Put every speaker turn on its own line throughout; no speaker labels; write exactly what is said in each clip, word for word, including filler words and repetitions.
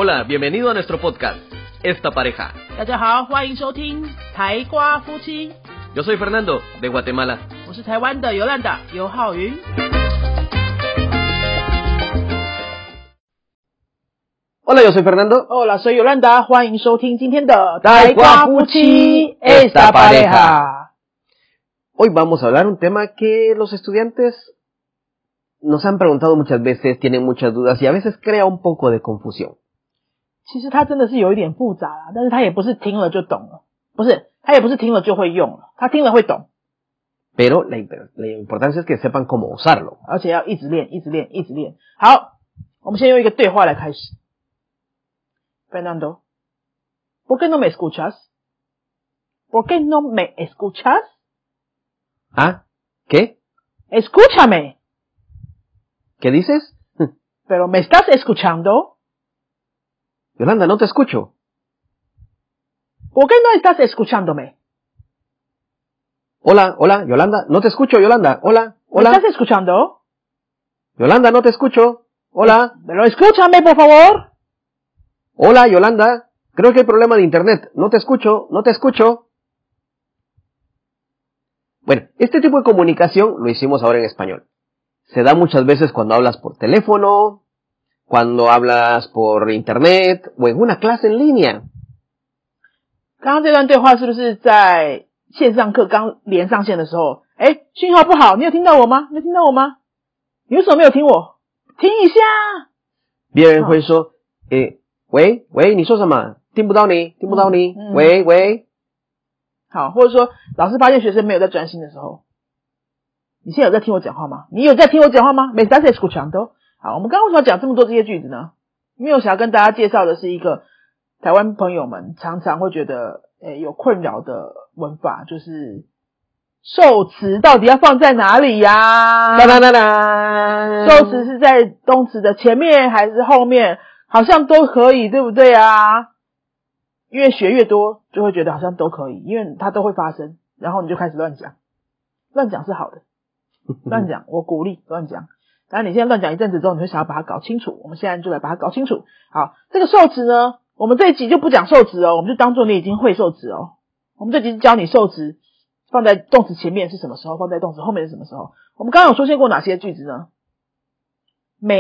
Hola, bienvenido a nuestro podcast, Esta Pareja.
大家好，欢迎收听台瓜夫妻。
Yo soy Fernando, de Guatemala.
我是台湾的尤兰达尤浩云。
Hola, yo soy Fernando.
Hola, soy Yolanda， 欢迎收听今天的
台瓜夫妻 Esta Pareja. Hoy vamos a hablar un tema que los estudiantes nos han preguntado muchas veces, tienen muchas dudas y a veces crea un poco de confusión.
其实它真的是有一点复杂啦，但是它也不是听了就懂了，不是，它也不是听了就会用了，它听了会懂。
Pero la, la importancia es que sepan cómo usarlo.
而且要一直练，一直练，一直练。好，我们先用一个对话来开始。Fernando, ¿por qué no me escuchas? ¿Por qué no me escuchas?
¿Ah? ¿Qué?
Escúchame.
¿Qué dices?
Pero ¿me estás escuchando?
Yolanda, no te escucho.
¿Por qué no estás escuchándome?
Hola, hola, Yolanda, no te escucho, Yolanda. Hola, hola.
¿Me estás escuchando?
Yolanda, no te escucho. Hola.
Pero escúchame, por favor.
Hola, Yolanda. Creo que hay problema de internet. No te escucho, no te escucho. Bueno, este tipo de comunicación lo hicimos ahora en español. Se da muchas veces cuando hablas por teléfono, cuando hablas por internet o en una clase en línea.
刚刚这段对话是不是在线上课刚连上线的时候？诶，讯号不好，你有听到我吗？你有听到我吗？你为什么没有听我？听一下。
别人会说，诶，喂喂，你说什么？听不到你，听不到你。
嗯嗯、
喂喂。
好，或者说老师发现学生没有在专心的时候，你现在有在听我讲话吗？你有在听我讲话吗？ ¿Me estás escuchando？ 好，我们刚刚为什么要讲这么多这些句子呢？因为我想要跟大家介绍的是一个台湾朋友们常常会觉得诶有困扰的文法，就是受词到底要放在哪里呀？
哒哒哒哒，
受词是在动词的前面还是后面？好像都可以，对不对啊？因为学越多就会觉得好像都可以，因为它都会发生，然后你就开始乱讲。乱讲是好的，乱讲我鼓励乱讲。当然你现在乱讲一阵子之后，你会想要把它搞清楚，我们现在就来把它搞清楚。好，这个受词呢，我们这一集就不讲受词哦，我们就当做你已经会受词哦。我们这集教你受词放在动词前面是什么时候，放在动词后面是什么时候。我们刚刚有出现过哪些句子呢？ ¿Me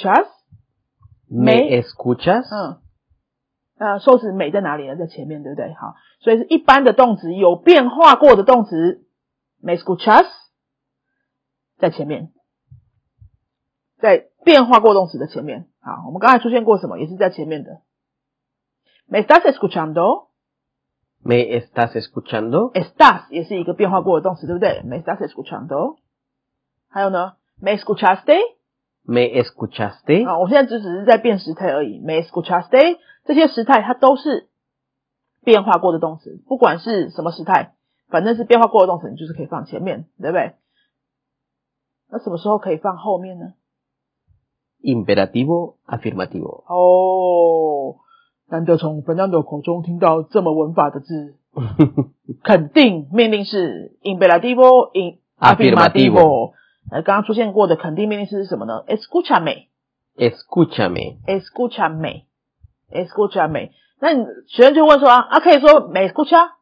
escuchas?Me
escuchas？
嗯，呃，受词me在哪里呢？在前面，对不对？好，所以是一般的动词，有变化过的动词 me escuchas 在前面，在变化过动词的前面。好，我们刚才出现过什么？也是在前面的。¿Me estás escuchando？
¿Me estás escuchando？
Estás 也是一个变化过的动词，对不对？ ¿Me estás escuchando？ 还有呢 ¿Me escuchaste？Me
escuchaste？
啊，我现在只只是在变时态而已。Me escuchaste 这些时态它都是变化过的动词，不管是什么时态，反正是变化过的动词，你就是可以放前面，对不对？那什么时候可以放后面呢？
Imperativo afirmativo。
哦，难得从 Fernando 口中听到这么文法的字。肯定命令式 Imperativo in afirmativo。呃，刚刚出现过的肯定命令式是什么呢？ Escúchame。
Escúchame。
Escúchame。 Escúchame。 那你学生就问说啊，啊可以说 me escucha？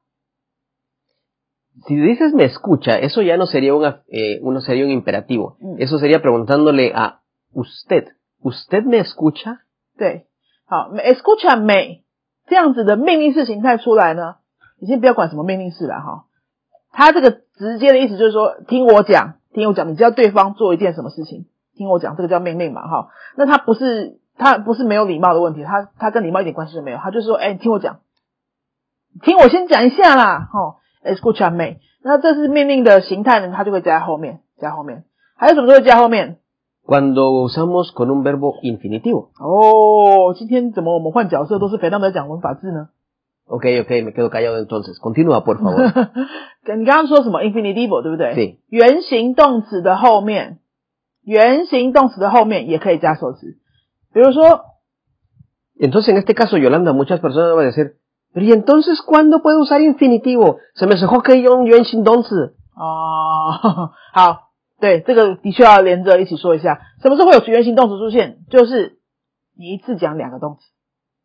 Si dices me escucha, eso ya no sería una, eh, uno sería un imperativo. Mm. Eso sería preguntándole a usted. ¿Usted me escucha?
对，好 me escúchame 这样子的命令式形态出来呢，你先不要管什么命令式啦哈。它这个直接的意思就是说，听我讲。听我讲，你知道对方做一件什么事情，听我讲，这个叫命令嘛，哈。那它不是，它不是没有礼貌的问题，它它跟礼貌一点关系都没有，它就是说，哎，你听我讲，听我先讲一下啦，哈 ，escúchame。那这是命令的形态呢，它就会加在后面，加后面。还有什么时候会加后面
？Cuando usamos con un verbo infinitivo。
哦，今天怎么我们换角色都是Fernando在讲文法字呢？
Ok, ok, me quedo callado entonces. Continúa, por favor.
你刚刚说什么 infinitivo 对不对？
对。
原形动词的后面，原形动词的后面也可以加受词。比如说
Entonces, en este caso, Yolanda, muchas personas van a decir, pero ¿y entonces cuándo puedo usar infinitivo? Se me dejó que yo un原形动词。
哦，好，对，这个的确要连着一起说一下。什么时候会有原形动词出现？就是你一次讲两个动词。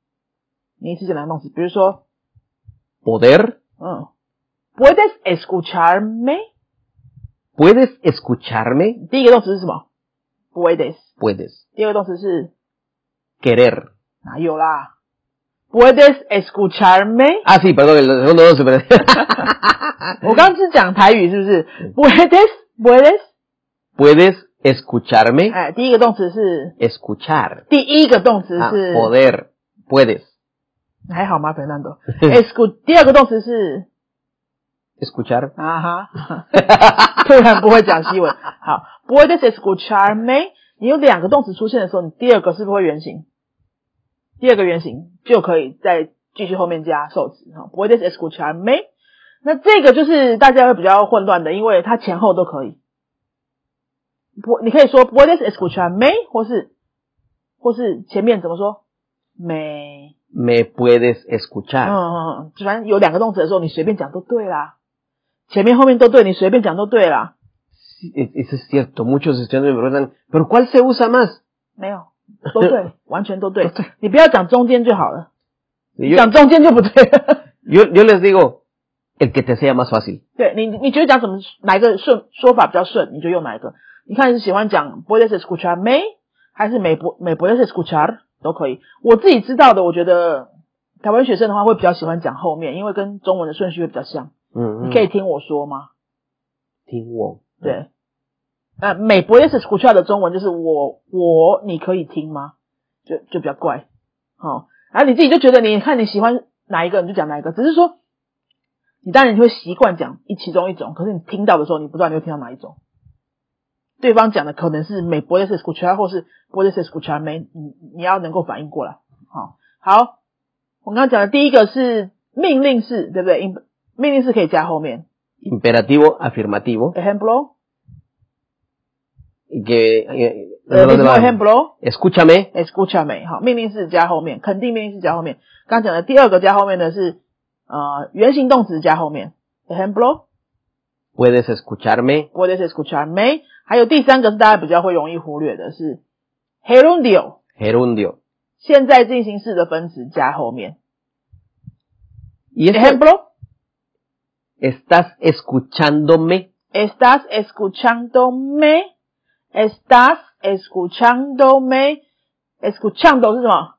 你一次讲两个动词，比如说
poder，
嗯 ，puedes escucharme，
puedes escucharme，
第一个动词是什么 ？puedes，
puedes，
第二个动词是
querer，
哪有啦 ？puedes escucharme，
ah sí perdón el segundo no se perdón
我刚刚是讲台语是不是 ？puedes puedes
puedes escucharme，
哎，第一个动词是
escuchar，
第一个动词是、
ah, poder puedes，
还好吗 ，Fernando？ escu 第二个动词是
escuchar，
啊哈，突然不会讲西文。好 ，puedes escucharme， 你有两个动词出现的时候，你第二个是不是会原形？第二个原形就可以再继续后面加受词哈 ，puedes escucharme。那这个就是大家会比较混乱的，因为它前后都可以。不，你可以说 puedes escucharme， 或是或是前面怎么说 me
me puedes escuchar，
嗯嗯嗯，反正有两个动词的时候，你随便讲都对啦，前面后面都对，你随便讲都对啦。
Eso es cierto, muchos estudiantes me preguntan, ¿pero cuál se usa más?
没有，都对，完全都对，你不要讲中间就好了，
yo,
讲中间就不对了。
yo, yo les digo, el que te sea más fácil.
对你，你觉得讲什么哪一个顺说法比较顺，你就用哪一个。你看是喜欢讲 puedes escucharme 还是 me me puedes escuchar 都可以。我自己知道的，我觉得台湾学生的话会比较喜欢讲后面，因为跟中文的顺序会比较像。
嗯嗯，
你可以听我说吗？
听我。
对。那 me puedes escuchar 的中文就是我我你可以听吗？就就比较怪。好，然后你自己就觉得你看你喜欢哪一个你就讲哪一个，只是说你当然你会习惯讲一其中一种，可是你听到的时候你不知道你会听到哪一种。对方讲的可能是 me puedes escuchar 或是 puedes escucharme， 你你要能够反应过来。好，好，我刚刚讲的第一个是命令式，对不对？命令式可以加后面
imperativo afirmativo
ejemplo
que eh,
el mismo ejemplo
escúchame
escúchame 好，命令式加后面，肯定命令式加后面。刚刚讲的第二个加后面的是呃原形动词加后面 ejemplo
puedes escucharme
puedes escucharme。还有第三个是大家比较会容易忽略的是 gerundio
gerundio
现在进行式的分词加后面。
y
ejemplo
estás escuchándome
estás escuchándome estás escuchándome escuchando 是什么？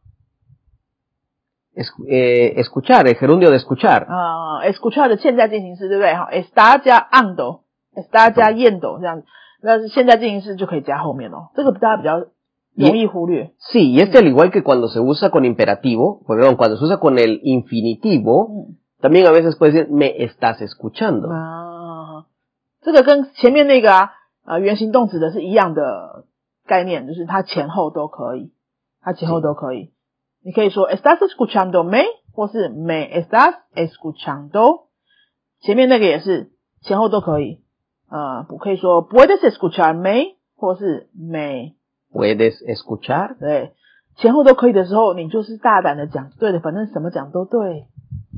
Es, eh, escuchar el gerundio de escuchar
啊、呃、escuchar 的现在进行式对不对？好 está 加 ando está 加 yendo 这样子，那是现在进行式就可以加后面哦，这个大家比较容易忽略。
Sí, y este al igual que cuando se usa con imperativo, perdón, cuando se usa con el infinitivo,
嗯
también a veces puede decir me estás escuchando.
啊，这个跟前面那个啊呃原形动词的是一样的概念，就是它前后都可以，它前后都可以。你可以说 estás escuchándome 或是 me estás escuchando， 前面那个也是前后都可以。呃，可以说 puedes escucharme 或是 me
puedes escuchar，
对，前后都可以的时候，你就是大胆的讲，对的，反正什么讲都对，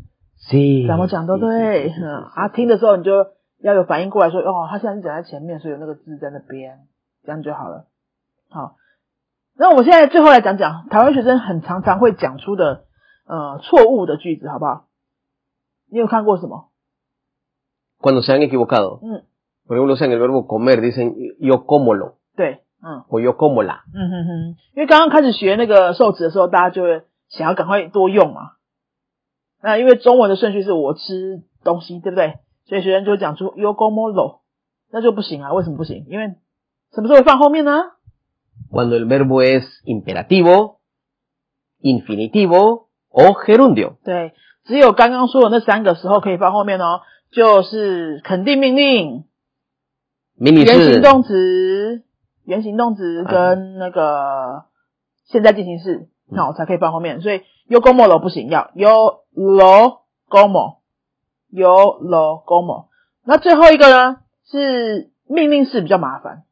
sí，
怎么讲都对。嗯啊，听的时候你就要有反应过来说，哦，他现在是讲在前面，所以有那个字在那边，这样就好了。好，那我们现在最后来讲讲台湾学生很常常会讲出的呃错误的句子，好不好？你有看过什么
cuando se han equivocado，
嗯
por ejemplo en el verbo comer dicen yo cómolo，
对，嗯
o yo cómola，
嗯哼哼，因为刚刚开始学那个受词的时候，大家就会想要赶快多用嘛。那因为中文的顺序是我吃东西，对不对？所以学生就会讲出 yo como lo， 那就不行啊，为什么不行？因为什么时候会放后面呢？
cuando el verbo es imperativo, infinitivo o gerundio。
对，只有刚刚说的那三个时候可以放后面哦，就是肯定命令、原形动词、原形动词跟那个现在进行式，那我才可以放后面。所以 yo como lo 不行，要 yo lo como yo lo como。那最后一个呢是命令式比较麻烦。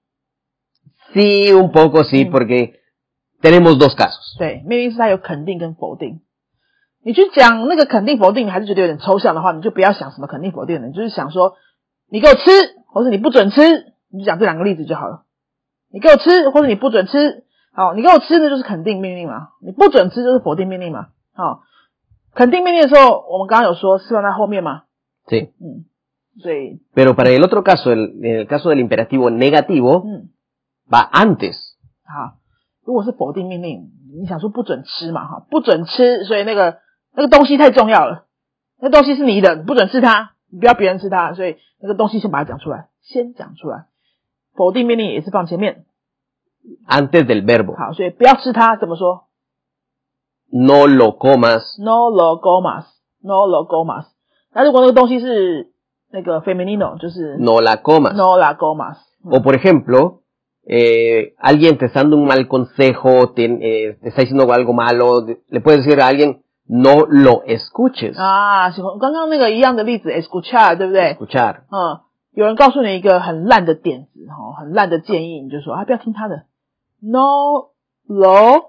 Sí, un poco sí, porque tenemos dos casos。
对，命令式它有肯定跟否定。你去讲那个肯定否定，你还是觉得有点抽象的话，你就不要想什么肯定否定的，你就是想说你给我吃，或是你不准吃，你就讲这两个例子就好了。你给我吃，或者你不准吃。好，你给我吃呢就是肯定命令嘛，你不准吃就是否定命令嘛。好， 肯定命令的时候，我们刚刚有说是放在后面吗？
Sí.
嗯，所以
Pero para el otro caso, el, en el caso del imperativo negativo,
嗯，
va antes.
好，如果是否定命令，你想说不准吃嘛，哈，不准吃，所以那个那个东西太重要了，那东西是你的，你不准吃它，你不要别人吃它，所以那个东西先把它讲出来，先讲出来。否定命令也是放前面，
Antes del verbo.
好，所以不要吃它，怎么说
No lo comas.
？No lo comas，no lo comas。那如果那个东西是那个 femenino， 就是
No la comas.
no la comas。
O por ejemplo, eh, alguien te está dando un mal consejo, te, eh, te está diciendo algo malo, le puedes decir a alguien, no lo escuches.
啊，刚刚那个一样的例子 escuchar 对不对？
Escuchar.
嗯，有人告诉你一个很烂的点子，哈，很烂的建议，你就说啊，不要听他的。No lo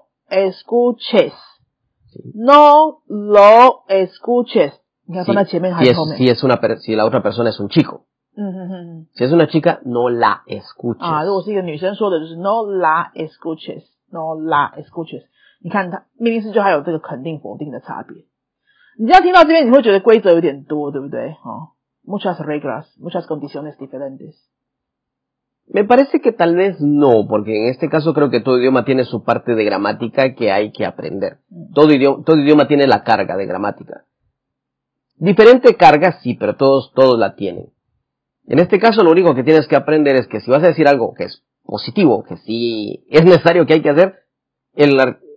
escuches，no lo escuches。你看放在前面还
Si
是
es,
后面？
si es una, per- si la otra persona es un chico.
嗯哼哼哼。
Si es una chica, no la escuches.
啊，如果是一个女生说的，就是 no la escuches，no la escuches。你看它命令式就还有这个肯定否定的差别。你这样听到这边，你会觉得规则有点多，对不对？哦 ，muchas reglas，muchas condiciones diferentes。
Me parece que tal vez no, porque en este caso creo que todo idioma tiene su parte de gramática que hay que aprender. Todo idioma, todo idioma tiene la carga de gramática. Diferente carga, sí, pero todos, todos la tienen. En este caso lo único que tienes que aprender es que si vas a decir algo que es positivo, que sí es necesario, que hay que hacer, el,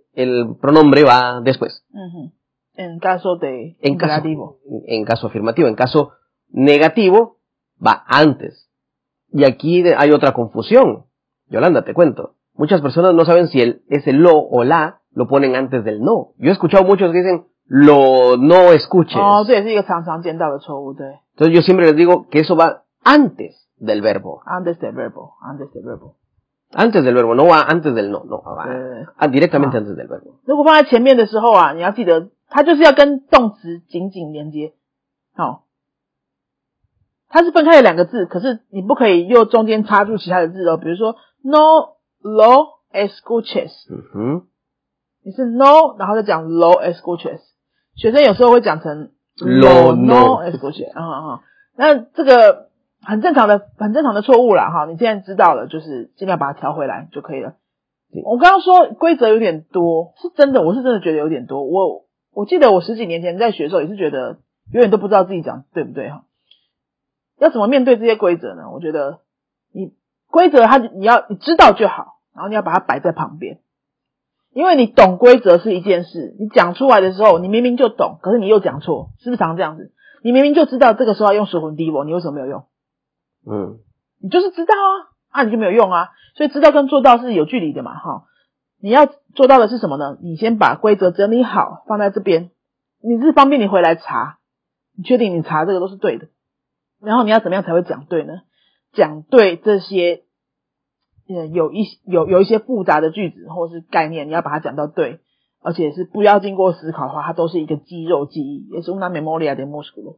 el pronombre va después.
Uh-huh. En caso de
en
imperativo.
Caso, en caso afirmativo. En caso negativo, va antes. Y aquí hay otra confusión. Yolanda, te cuento. Muchas personas no saben si el, ese lo o la lo ponen antes del no. Yo he escuchado muchos que dicen, lo no escuches.
Oh, 这也是一个常常见到的错误，对。
Entonces yo siempre les digo que eso va antes del verbo.
Antes del verbo, antes del verbo.
Antes del verbo, no va antes del no, no, va
eh,
ah, directamente
ah.
antes del verbo.
如果放在前面的时候啊，你要记得，它就是要跟动词紧紧连接。好，它是分开的两个字，可是你不可以又中间插入其他的字哦。比如说 no lo escuches，
嗯哼，
你是 no， 然后再讲 lo escuches。学生有时候会讲成
lo
no escuches， 啊啊，那这个很正常的、很正常的错误啦哈。你现在知道了，就是尽量把它调回来就可以了。我刚刚说规则有点多，是真的，我是真的觉得有点多。我我记得我十几年前在学的时候也是觉得永远都不知道自己讲对不对哈。要怎么面对这些规则呢？我觉得你规则它你要你知道就好，然后你要把它摆在旁边。因为你懂规则是一件事，你讲出来的时候你明明就懂，可是你又讲错，是不是常这样子？你明明就知道这个时候要用属魂 divo， 你为什么没有用？
嗯，
你就是知道啊，啊你就没有用啊，所以知道跟做到是有距离的嘛，哈。你要做到的是什么呢？你先把规则整理好，放在这边，你是方便你回来查，你确定你查这个都是对的，然后你要怎么样才会讲对呢？讲对这些呃有一有有一些复杂的句子或是概念，你要把它讲到对，而且是不要经过思考的话，它都是一个肌肉记忆，也是 una memoria de músculo。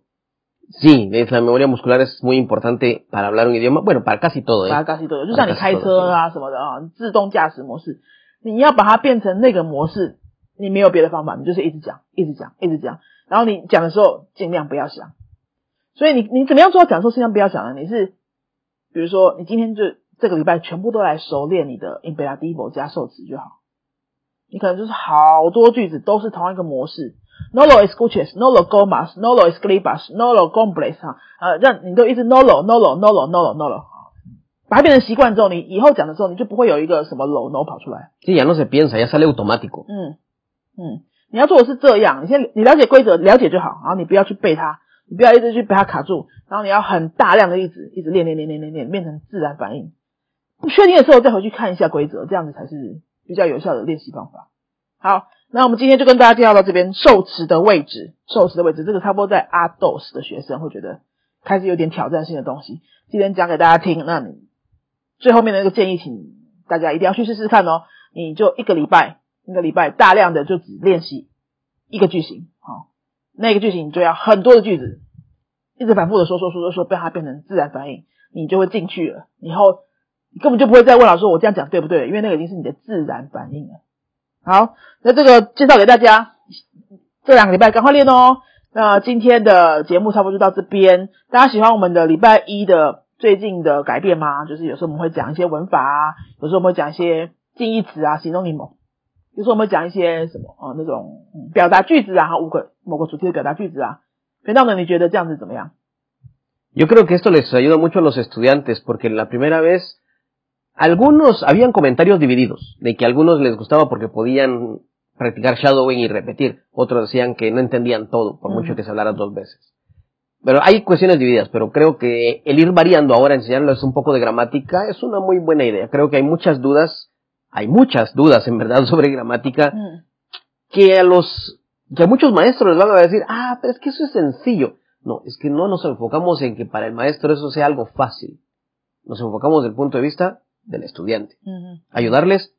Sí, la memoria muscular es muy importante para hablar un idioma, bueno, para casi todo, ¿eh?
Para casi todo， 就像你开车啊什么的啊，自动驾驶模式，你要把它变成那个模式，你没有别的方法，你就是一直讲，一直讲，一直讲，然后你讲的时候尽量不要想。所以你你怎么样做到讲的时候尽量不要想呢？你是比如说你今天就这个礼拜全部都来熟练你的 imperativo 加受词就好，你可能就是好多句子都是同一个模式。No lo escuches, no lo comas, no lo escribas, no lo compres 哈，呃，让你都一直 no lo, no lo, no lo, no lo, no lo， 把它变成习惯之后，你以后讲的时候，你就不会有一个什么 lo no 跑出来。
Sí, ya no se piensa, ya sale automático。
嗯嗯，你要做的是这样，你先你了解规则，了解就好，然后你不要去背它，你不要一直去被它卡住，然后你要很大量的一直一直练练练练练练，变成自然反应。不确定的时候再回去看一下规则，这样子才是比较有效的练习方法。好。那我们今天就跟大家介绍到这边受词的位置，受词的位置，这个差不多在 A dos 的学生会觉得开始有点挑战性的东西，今天讲给大家听。那你最后面的那个建议，请大家一定要去试试看哦。你就一个礼拜，一个礼拜大量的就只练习一个句型，好、哦，那个句型你就要很多的句子，一直反复的说说说说说，让它变成自然反应，你就会进去了。以后你根本就不会再问老师说我这样讲对不对，因为那个已经是你的自然反应了。好，那这个介绍给大家， 这两个礼拜赶快练哦。那今天的节目差不多就到这边，大家喜欢我们的礼拜一的最近的改变吗？就是有时候我们会讲一些文法啊，有时候我们会讲一些近义词啊、形容你某，有时候我们会讲一些什么呃那种、嗯、表达句子啊，五个某个主题的表达句子啊。学长呢，你觉得这样子怎么样？
Yo creo que esto les ayuda mucho a los estudiantes porque la primera vez algunos habían comentarios divididos, de que a algunos les gustaba porque podían practicar shadowing y repetir, otros decían que no entendían todo, por mucho que se hablara dos veces. Pero hay cuestiones divididas, pero creo que el ir variando ahora, enseñarles un poco de gramática, es una muy buena idea. Creo que hay muchas dudas, hay muchas dudas en verdad sobre gramática, mm. que a los, que a muchos maestros les van a decir, ah, pero es que eso es sencillo. No, es que no nos enfocamos en que para el maestro eso sea algo fácil. Nos enfocamos desde el punto de vista del estudiante. Uh-huh. Ayudarles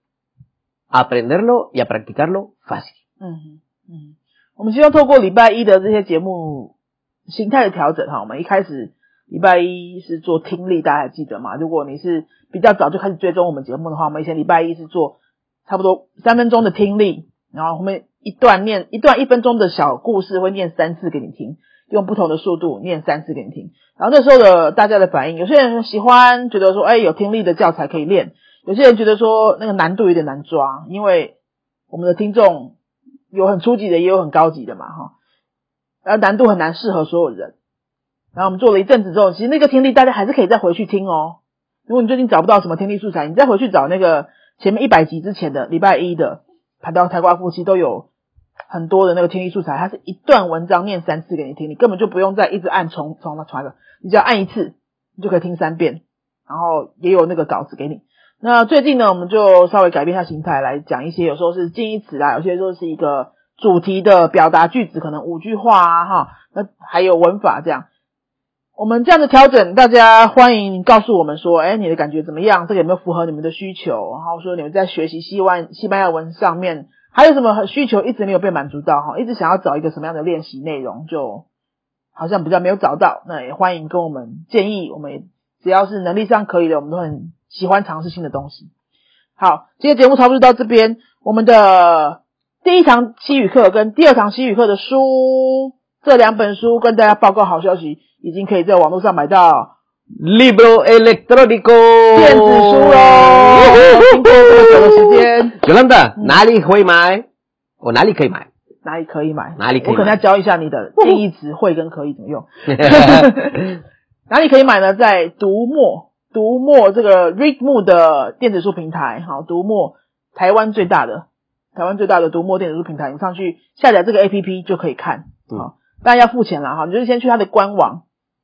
a aprenderlo y a practicarlo fácil.
Uh-huh. Uh-huh. 我们希望透过礼拜一的这些节目形态的调整哈，我们一开始礼拜一是做听力，大家还记得吗？如果你是比较早就开始追踪我们节目的话，我们以前礼拜一是做差不多三分钟的听力，然后后面一段念一段一分钟的小故事，会念三次给你听。用不同的速度念三次给你听，然后那时候的大家的反应，有些人喜欢觉得说，哎，有听力的教材可以练，有些人觉得说那个难度有点难抓，因为我们的听众有很初级的，也有很高级的嘛，哈，然后难度很难适合所有人。然后我们做了一阵子之后，其实那个听力大家还是可以再回去听哦。如果你最近找不到什么听力素材，你再回去找那个前面一百集之前的礼拜一的谈到台瓜夫妻都有很多的那个听力素材，它是一段文章念三次给你听，你根本就不用再一直按重重的传了，你只要按一次，你就可以听三遍，然后也有那个稿子给你。那最近呢，我们就稍微改变一下形态来讲一些，有时候是近义词啦，有些时候是一个主题的表达句子，可能五句话啊，哈，那还有文法这样。我们这样的调整，大家欢迎告诉我们说，哎，你的感觉怎么样？这个有没有符合你们的需求？然后说你们在学习西湾西班牙文上面还有什么需求一直没有被满足到哈？一直想要找一个什么样的练习内容，就好像比较没有找到。那也欢迎跟我们建议，我们也只要是能力上可以的，我们都很喜欢尝试新的东西。好，今天节目差不多到这边。我们的第一堂西语课跟第二堂西语课的书，这两本书跟大家报告好消息，已经可以在网络上买到
Libro electrónico
电子书咯。经过这么久的时间
Yolanda、嗯、哪里会买？我哪里可以买？
哪里可以买？
哪里可以买？
我可能要教一下你的近义词会跟可以怎么用。哪里可以买呢？在读墨，读墨这个 Readmoo 的电子书平台，好，读墨台湾最大的台湾最大的读墨电子书平台，你上去下载这个 A P P 就可以看，好，当然要付钱啦，哈，你就是先去它的官网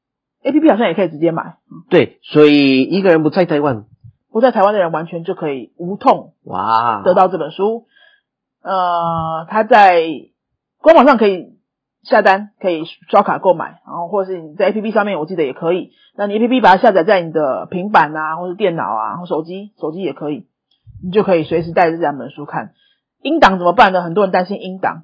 ，A P P 好像也可以直接买。
对，所以一个人不在台湾，
不在台湾的人完全就可以无痛
哇
得到这本书。呃，它在官网上可以下单，可以刷卡购买，然后或是你在 A P P 上面，我记得也可以。那你 A P P 把它下载在你的平板啊，或是电脑啊，或手机，手机也可以，你就可以随时带着这两本书看。音档怎么办呢？很多人担心音档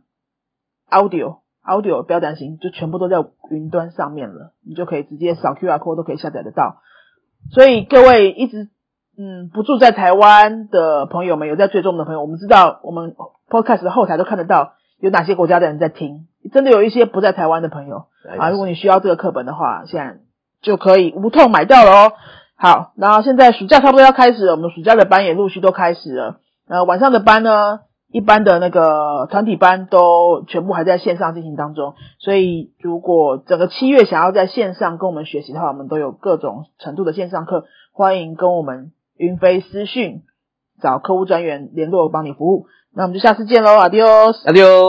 ，audio audio 不要担心，就全部都在云端上面了，你就可以直接扫 Q R code 都可以下载得到。所以各位一直嗯不住在台湾的朋友们，有在追踪的朋友，我们知道我们 podcast 的后台都看得到有哪些国家的人在听，真的有一些不在台湾的朋友啊，如果你需要这个课本的话，现在就可以无痛买到了哦。好，然后现在暑假差不多要开始了，我们暑假的班也陆续都开始了。呃，晚上的班呢，一般的那个团体班都全部还在线上进行当中，所以如果整个七月想要在线上跟我们学习的话，我们都有各种程度的线上课，欢迎跟我们云飞私讯找客户专员联络帮你服务。那我们就下次见咯 adios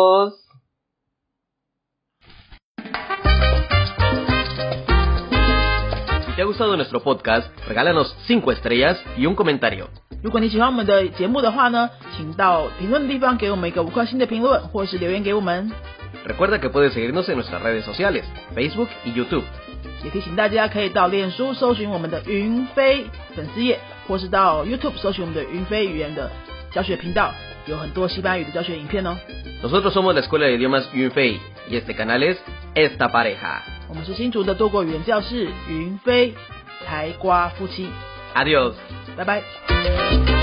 adios。Si te ha gustado nuestro podcast, regálanos cinco estrellas y un comentario.
如果你喜欢我们的节目的话呢，请到评论的地方给我们一个五颗星的评论，或是留言给我们。
Recuerda que puedes seguirnos en nuestras redes sociales, Facebook y YouTube.
也提醒大家可以到脸书搜寻我们的云飞粉丝页，或是到 YouTube 搜寻我们的云飞语言的教学频道，有很多西班牙语的教学影片哦。
Nosotros somos la Escuela de Idiomas Yunfei y este canal es Esta Pareja.
我们是新竹的多国语言教室云飞台瓜夫妻。
Adiós.
拜拜。